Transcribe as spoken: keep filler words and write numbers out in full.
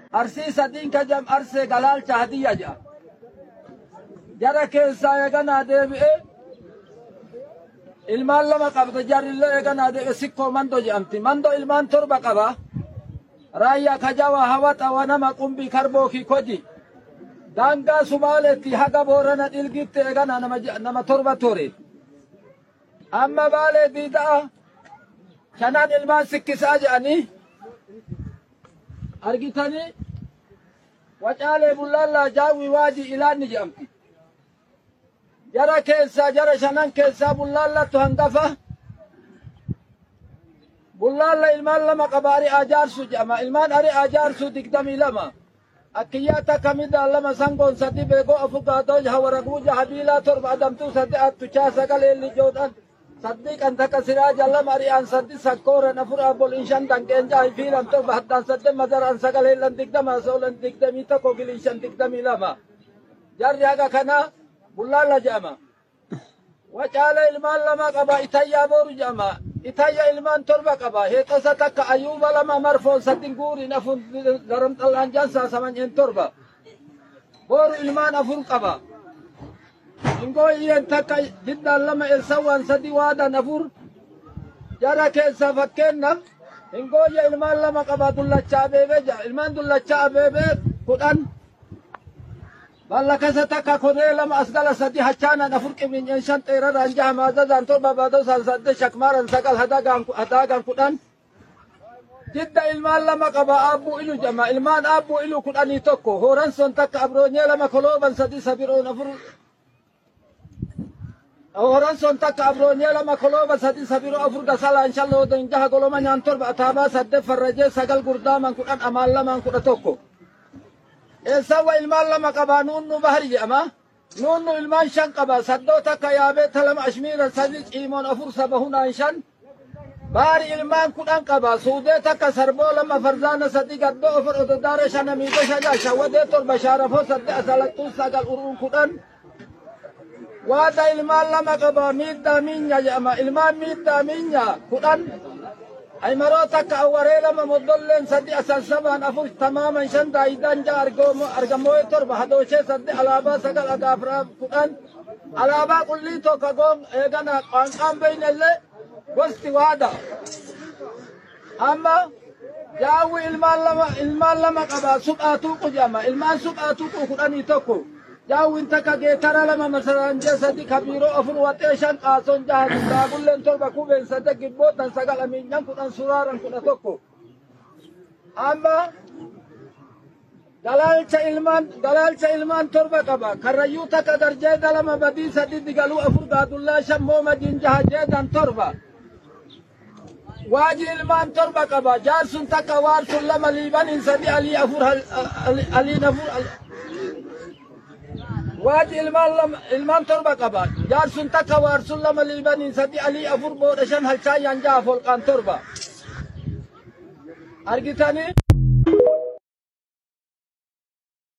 Arsii sadiin ka jam arsee galaalcha hadiyya jedha. Jara keessaa eeganaa deebi'ee ilmaan lama qabda jarrillee eeganaa deebi'e sikkoo mandoo jedhamti. Mandoo ilmaan torba qaba. Raayyaa kajawa hawata wanama qumbii karbookii koji. Daangaa Sumaaleetti haga Boorana Dhilgitti eeganaa nama nama torba ture. Amma Baalee Diidaa shanan ilmaan sikkisaa jedhanii argitanii Wacaalee Bullaallaa Jaawwii Waajii Ilaanni jedhamti. Jara keessaa jara shanan keessaa Bullaallattu hangafa. Bullaalla ilmaan lama qaba Ari'aa Jaarsuu jedhama. Ilmaan Ari'aa Jaarsuu digdamii lama. Akkiyyaa takka midhaan lama sangoon sadii beekoo afur gaatoo jaha waraguuja habiilaa torba adamtuu sadii attuchaa sagalee lijoodhaan sadii kan takka siraaja lama Ari'aan sadii sakkooran afur abboliin shan danqeen jaha fiilan torba haddaan sadii madaraan sagalee lan digdama soolan digdamii tokko giliin shan digdamii lama. Jarri haga kana Bullaalla jedhama. Wacaalee ilmaan lama qaba Itayyaa Booru jedhama. Itayya ilmaan torba qaba. Heexosa takka Ayyuuba lama marfoon sadii guuriin afur garam xallaan jaansaa samanyeen torba. Booru ilmaan afur qaba. Ingoo iyyeen takka jiddaan lama elsawwaan sadii waadaan afur. Jara keessaa fakkeennaaf ingooyya ilmaan lama qaba Dullachaa Abeebee jedha. Ilmaan Dullachaa Abeebee kudhan. Ballakasa takka Koree lama asgala sadii hachaanan afur qibninyeen shan xeeraraan jaha maazazaan torba baadosaan sadde shakmaaran sagal hadaagaan kudhan. Jidda ilmaan lama qaba Aabbuu Ilu jedhama. Ilmaan Aabbuu Ilu kudhanii tokko. Hooransoon takka Abroonyee lama kolooban sadii sabiroon afur. Hooransoon takka Abroonyee lama kolooban sadii sabiroo afur gasalaan shan loodan jaha goloma nyaan torba ataabaa sadde farrajee sagal gurdaaman kudhan amaan lamaan kudha tokko. Eessaawwa ilmaan lama qaba Nuunnu Bahari jedhama. Nuunnu ilmaan shan qaba. Saddoo takka Yaabeeta lama Ashmiiran sadii Ciimoon afur saba hunaan shan. Bahari ilmaan kudhan qaba. Suudee takka Sarboo lama Farzaana sadii Gaddoo afur Ododaare shan Amiidoo shagaa Shawwadee torba Shaarafoo sadde Asalattuu sagal Uruun kudhan. Waada ilmaan lama qaba Miiddaa Miinyaa jedhama. Ilmaan Miiddaa Miinyaa kudhan. Aymaroo takka Awwaree lama Moddolleen sadii Asansabaan afur tamaaman shan Daayidaan jaha Argamoo'ee torba Hadooshee sadii Alaabaa sagal Agaafiraa kudhan. Alaabaa Qullii tokko goon eegana qaanqaan beeynellee gosti waada. Amma Jaawwi ilmaan lama ilmaan lama qaba Suphaa Tuuqu jedhama. Ilmaan Suphaa Tuuqu kudhanii tokko. Jaawwin takka Geetara lama Masaraanjee sadii Kabiiroo afur Waxee shan Qaasoon jaha Daabulleen torba Kubeen sadde Gibbootan sagal Amiinyan kudhan Suraaran kudha tokko. Amma Galaalcha ilmaan Galaalcha ilmaan torba qaba. Karrayyuu takka Darjeeda lama Badii sadii Digaluu afur Gaadullaa shan Moomadiin jaha Jeedan torba. Waajii ilmaan torba qaba. Jaarsun takka Waarsun lama Liibaniin sadii Alii afur Aliin afur Waajii ilmaan lama ilmaan torba qaba. Jaarsun takka Waarsun lama Liibaniin sadii Alii afur Booda shan Halchaayyaan jaha Folqaan torba. Argitanii?